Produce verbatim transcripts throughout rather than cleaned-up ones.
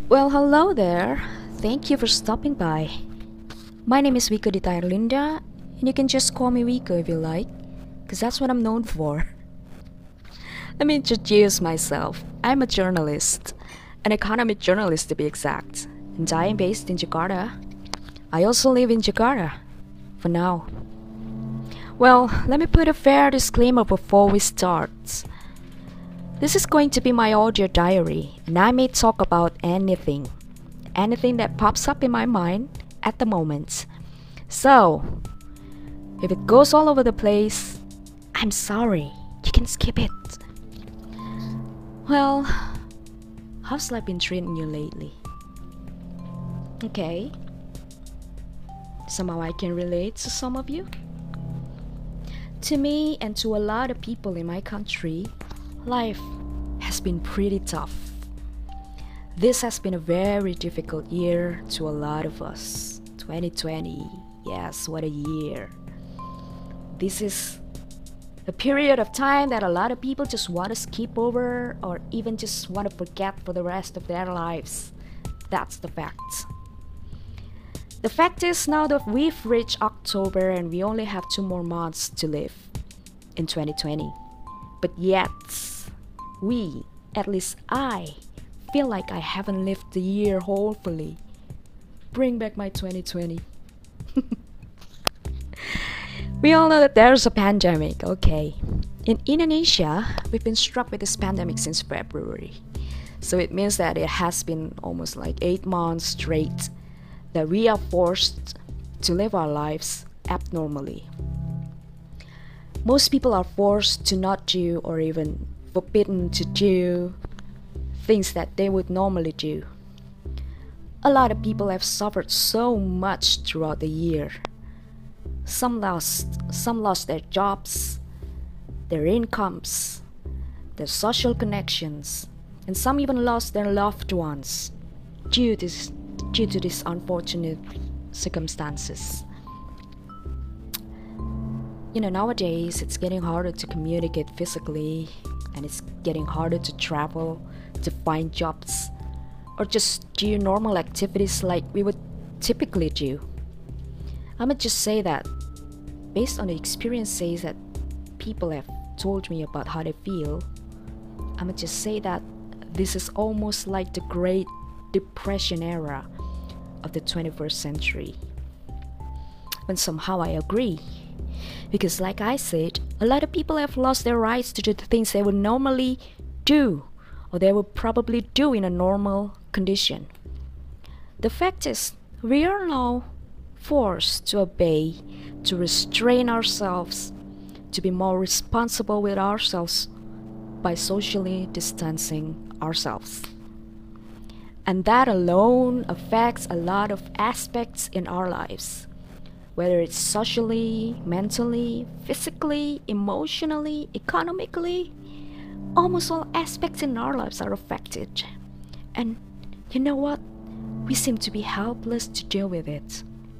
Well, hello there. Thank you for stopping by. My name is Wiko Dita Erlinda, and you can just call me Wiko if you like, because that's what I'm known for. Let me introduce myself. I'm a journalist, an economic journalist to be exact, and I am based in Jakarta. I also live in Jakarta, for now. Well, let me put a fair disclaimer before we start. This is going to be my audio diary, and I may talk about anything, anything that pops up in my mind at the moment. So, if it goes all over the place, I'm sorry, you can skip it. Well, how's life been treating you lately? Okay, somehow I can relate to some of you. To me and to a lot of people in my country, life has been pretty tough. This has been a very difficult year to a lot of us. twenty twenty, yes, what a year. This is a period of time that a lot of people just want to skip over or even just want to forget for the rest of their lives. That's the fact. The fact is now that we've reached October and we only have two more months to live in twenty twenty. But yet, we, at least I, feel like I haven't lived the year wholly. Bring back my twenty twenty. We all know that there's a pandemic, okay. In Indonesia, we've been struck with this pandemic since February. So it means that it has been almost like eight months straight that we are forced to live our lives abnormally. Most people are forced to not do or even forbidden to do things that they would normally do. A lot of people have suffered so much throughout the year. Some lost, some lost their jobs, their incomes, their social connections, and some even lost their loved ones due to this, due to these unfortunate circumstances. You know, nowadays it's getting harder to communicate physically, and it's getting harder to travel, to find jobs, or just do normal activities like we would typically do. I'ma just say that based on the experiences that people have told me about how they feel, I'ma just say that this is almost like the Great Depression era of the twenty-first century. When somehow I agree. Because like I said, a lot of people have lost their rights to do the things they would normally do, or they would probably do in a normal condition. The fact is, we are now forced to obey, to restrain ourselves, to be more responsible with ourselves by socially distancing ourselves. And that alone affects a lot of aspects in our lives. Whether it's socially, mentally, physically, emotionally, economically, almost all aspects in our lives are affected. And you know what? We seem to be helpless to deal with it.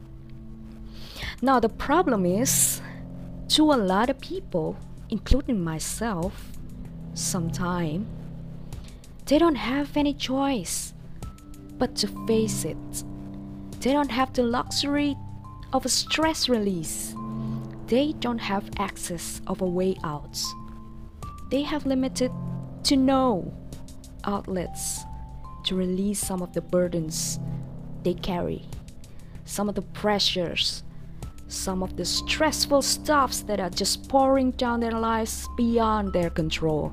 Now the problem is, to a lot of people, including myself, sometime, they don't have any choice but to face it. They don't have the luxury of a stress release. They don't have access of a way out. They have limited to no outlets to release some of the burdens they carry, some of the pressures, some of the stressful stuffs that are just pouring down their lives beyond their control.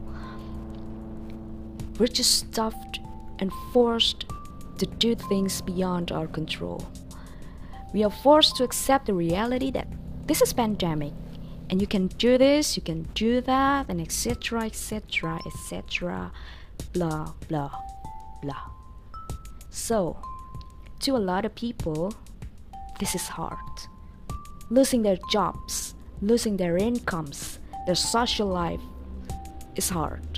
We're just stuffed and forced to do things beyond our control. We are forced to accept the reality that this is pandemic, and you can do this, you can do that, and etc, etc, etc, blah, blah, blah. So, to a lot of people, this is hard. Losing their jobs, losing their incomes, their social life is hard.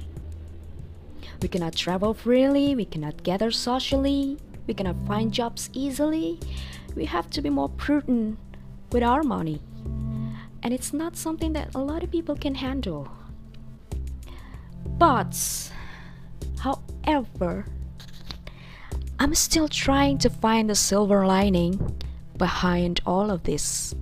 We cannot travel freely, we cannot gather socially, we cannot find jobs easily. We have to be more prudent with our money. And it's not something that a lot of people can handle. But, however, I'm still trying to find the silver lining behind all of this.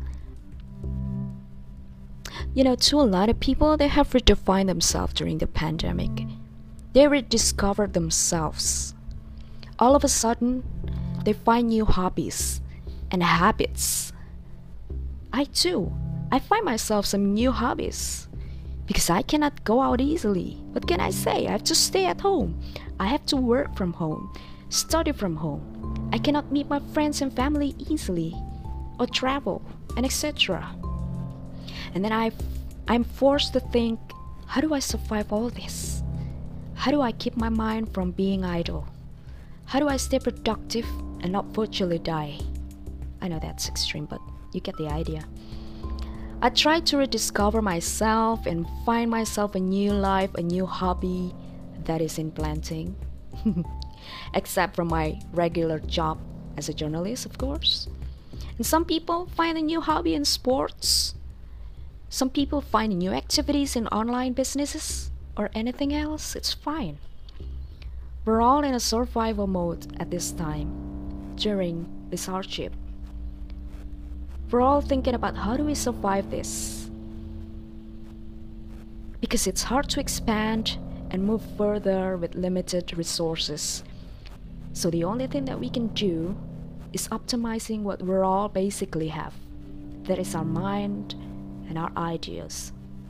You know, to a lot of people, they have redefined themselves during the pandemic. They rediscovered themselves. All of a sudden, they find new hobbies and habits. I too, I find myself some new hobbies because I cannot go out easily. What can I say? I have to stay at home. I have to work from home, study from home. I cannot meet my friends and family easily or travel and et cetera. And then I, I'm forced to think, how do I survive all this? How do I keep my mind from being idle? How do I stay productive and not virtually die? I know that's extreme, but you get the idea. I try to rediscover myself and find myself a new life, a new hobby that is in planting. Except from my regular job as a journalist, of course. And some people find a new hobby in sports. Some people find new activities in online businesses or anything else. It's fine. We're all in a survival mode at this time during this hardship. We're all thinking about how do we survive this? Because it's hard to expand and move further with limited resources. So the only thing that we can do is optimizing what we all basically have. That is our mind and our ideas.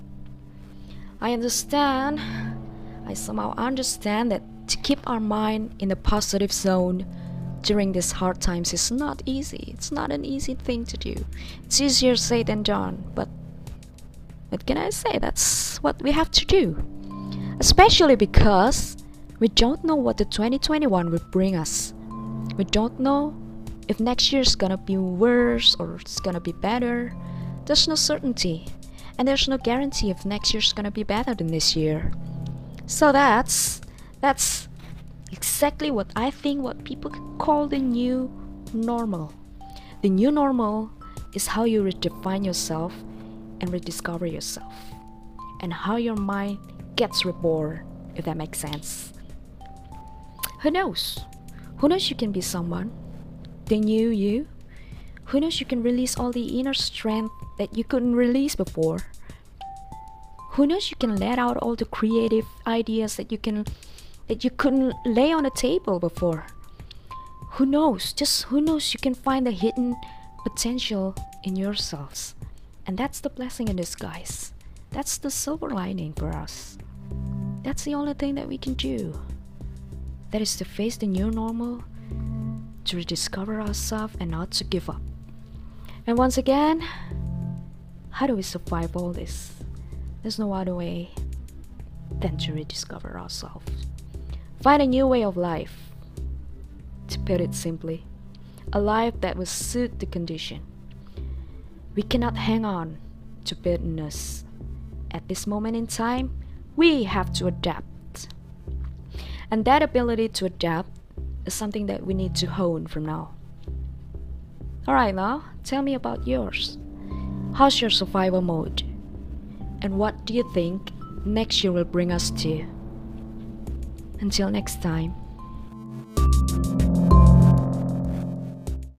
I understand, I somehow understand that to keep our mind in the positive zone during these hard times is not easy. It's not an easy thing to do. It's easier said than done, but what can I say? That's what we have to do. Especially because we don't know what the twenty twenty-one will bring us. We don't know if next year's gonna be worse or it's gonna be better. There's no certainty, and there's no guarantee if next year's gonna be better than this year. So that's that's exactly what I think what people call the new normal. The new normal is how you redefine yourself and rediscover yourself, and how your mind gets reborn, if that makes sense. Who knows? Who knows you can be someone, the new you? Who knows you can release all the inner strength that you couldn't release before? Who knows you can let out all the creative ideas that you can that you couldn't lay on a table before? Who knows? Just who knows you can find the hidden potential in yourselves. And that's the blessing in disguise. That's the silver lining for us. That's the only thing that we can do. That is to face the new normal, to rediscover ourselves and not to give up. And once again, how do we survive all this? There's no other way than to rediscover ourselves. Find a new way of life. To put it simply, a life that will suit the condition. We cannot hang on to bitterness. At this moment in time, we have to adapt. And that ability to adapt is something that we need to hone from now. Alright, now, tell me about yours. How's your survival mode? And what do you think next year will bring us to? Until next time.